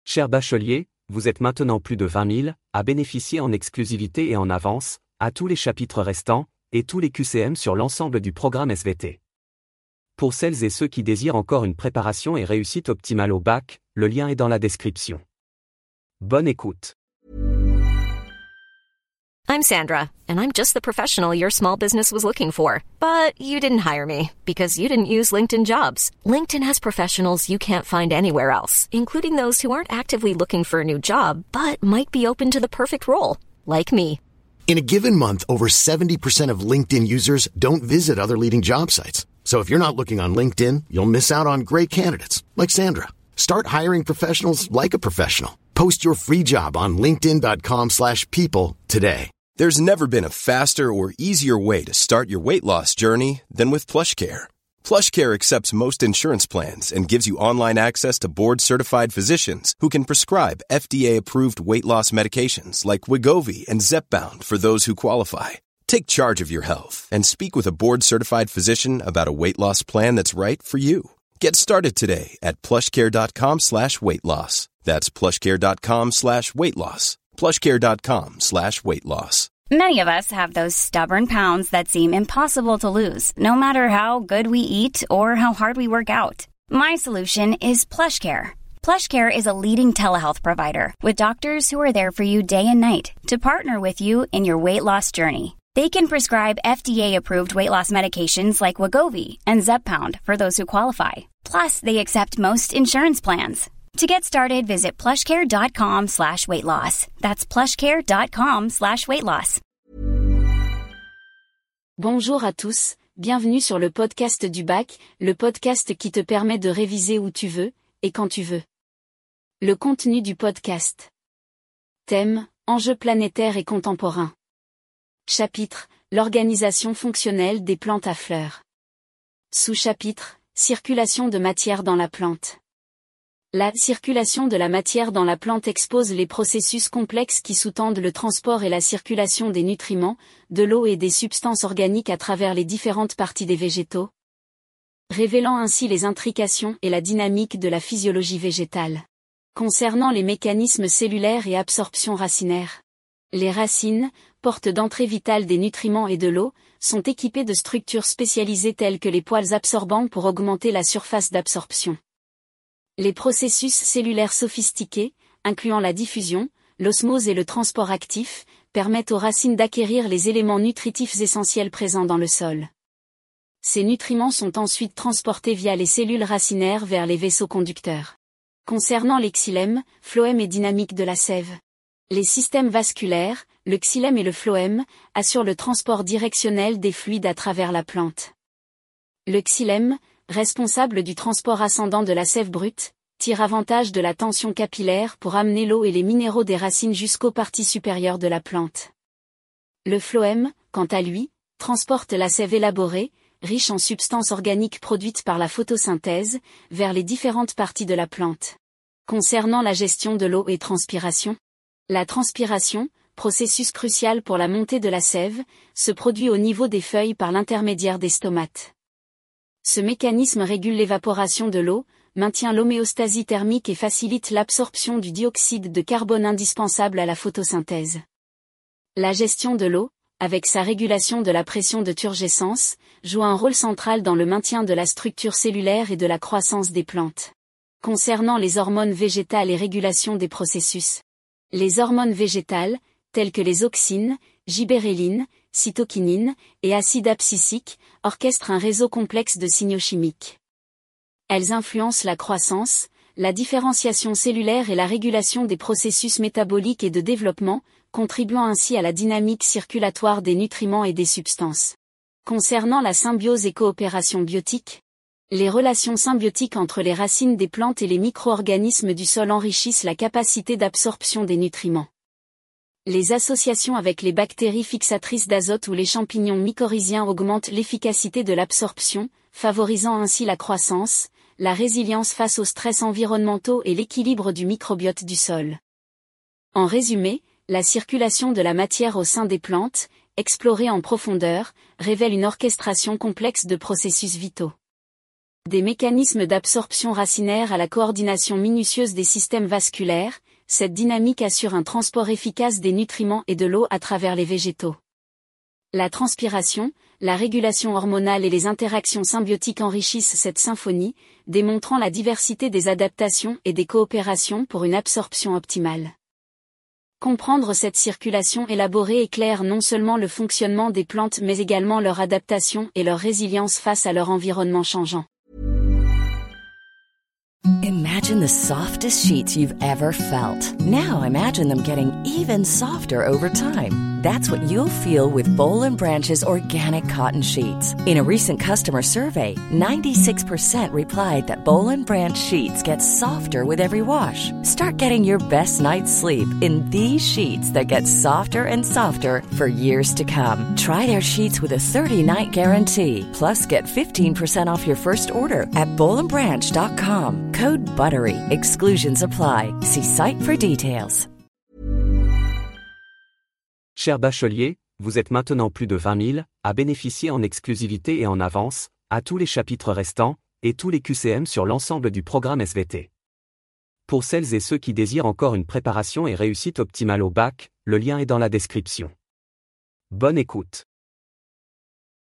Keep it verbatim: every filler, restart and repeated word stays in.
Chers bacheliers, vous êtes maintenant plus de vingt mille à bénéficier en exclusivité et en avance, à tous les chapitres restants, et tous les Q C M sur l'ensemble du programme S V T. Pour celles et ceux qui désirent encore une préparation et réussite optimale au bac, le lien est dans la description. Bonne écoute. I'm Sandra, and I'm just the professional your small business was looking for. But you didn't hire me, because you didn't use LinkedIn Jobs. LinkedIn has professionals you can't find anywhere else, including those who aren't actively looking for a new job, but might be open to the perfect role, like me. In a given month, over seventy percent of LinkedIn users don't visit other leading job sites. So if you're not looking on LinkedIn, you'll miss out on great candidates, like Sandra. Start hiring professionals like a professional. Post your free job on linkedin.com slash people today. There's never been a faster or easier way to start your weight loss journey than with PlushCare. PlushCare accepts most insurance plans and gives you online access to board-certified physicians who can prescribe F D A-approved weight loss medications like Wegovy and Zepbound for those who qualify. Take charge of your health and speak with a board-certified physician about a weight loss plan that's right for you. Get started today at plushcare.com slash weight loss. That's plushcare.com slash weight loss. plushcare.com slash weight loss. Many of us have those stubborn pounds that seem impossible to lose, no matter how good we eat or how hard we work out. My solution is PlushCare. PlushCare is a leading telehealth provider with doctors who are there for you day and night to partner with you in your weight loss journey. They can prescribe F D A-approved weight loss medications like Wegovy and Zepbound for those who qualify. Plus, they accept most insurance plans. To get started, visit plushcare.com slash weight loss. That's plushcare.com slash weight loss. Bonjour à tous, bienvenue sur le podcast du bac, le podcast qui te permet de réviser où tu veux, et quand tu veux. Le contenu du podcast. Thème, enjeux planétaires et contemporains. Chapitre, l'organisation fonctionnelle des plantes à fleurs. Sous-chapitre, circulation de matière dans la plante. La circulation de la matière dans la plante expose les processus complexes qui sous-tendent le transport et la circulation des nutriments, de l'eau et des substances organiques à travers les différentes parties des végétaux, révélant ainsi les intrications et la dynamique de la physiologie végétale. Concernant les mécanismes cellulaires et absorption racinaire. Les racines, portes d'entrée vitale des nutriments et de l'eau, sont équipées de structures spécialisées telles que les poils absorbants pour augmenter la surface d'absorption. Les processus cellulaires sophistiqués, incluant la diffusion, l'osmose et le transport actif, permettent aux racines d'acquérir les éléments nutritifs essentiels présents dans le sol. Ces nutriments sont ensuite transportés via les cellules racinaires vers les vaisseaux conducteurs. Concernant les xylèmes, phloème et dynamique de la sève. Les systèmes vasculaires, le xylème et le phloème, assurent le transport directionnel des fluides à travers la plante. Le xylème, responsable du transport ascendant de la sève brute, tire avantage de la tension capillaire pour amener l'eau et les minéraux des racines jusqu'aux parties supérieures de la plante. Le phloème, quant à lui, transporte la sève élaborée, riche en substances organiques produites par la photosynthèse, vers les différentes parties de la plante. Concernant la gestion de l'eau et transpiration, la transpiration, processus crucial pour la montée de la sève, se produit au niveau des feuilles par l'intermédiaire des stomates. Ce mécanisme régule l'évaporation de l'eau, maintient l'homéostasie thermique et facilite l'absorption du dioxyde de carbone indispensable à la photosynthèse. La gestion de l'eau, avec sa régulation de la pression de turgescence, joue un rôle central dans le maintien de la structure cellulaire et de la croissance des plantes. Concernant les hormones végétales et régulation des processus. Les hormones végétales, telles que les auxines, gibérellines, cytokinines et acide abscisique, orchestrent un réseau complexe de signaux chimiques. Elles influencent la croissance, la différenciation cellulaire et la régulation des processus métaboliques et de développement, contribuant ainsi à la dynamique circulatoire des nutriments et des substances. Concernant la symbiose et coopération biotique, les relations symbiotiques entre les racines des plantes et les micro-organismes du sol enrichissent la capacité d'absorption des nutriments. Les associations avec les bactéries fixatrices d'azote ou les champignons mycorhiziens augmentent l'efficacité de l'absorption, favorisant ainsi la croissance, la résilience face aux stress environnementaux et l'équilibre du microbiote du sol. En résumé, la circulation de la matière au sein des plantes, explorée en profondeur, révèle une orchestration complexe de processus vitaux. Des mécanismes d'absorption racinaire à la coordination minutieuse des systèmes vasculaires, cette dynamique assure un transport efficace des nutriments et de l'eau à travers les végétaux. La transpiration, la régulation hormonale et les interactions symbiotiques enrichissent cette symphonie, démontrant la diversité des adaptations et des coopérations pour une absorption optimale. Comprendre cette circulation élaborée éclaire non seulement le fonctionnement des plantes mais également leur adaptation et leur résilience face à leur environnement changeant. Imagine the softest sheets you've ever felt. Now imagine them getting even softer over time. That's what you'll feel with Boll and Branch's organic cotton sheets. In a recent customer survey, ninety-six percent replied that Boll and Branch sheets get softer with every wash. Start getting your best night's sleep in these sheets that get softer and softer for years to come. Try their sheets with a thirty-night guarantee. Plus, get fifteen percent off your first order at boll and branch dot com. Code BUTTERY. Exclusions apply. See site for details. Cher bachelier, vous êtes maintenant plus de vingt mille à bénéficier en exclusivité et en avance, à tous les chapitres restants, et tous les Q C M sur l'ensemble du programme S V T. Pour celles et ceux qui désirent encore une préparation et réussite optimale au bac, le lien est dans la description. Bonne écoute.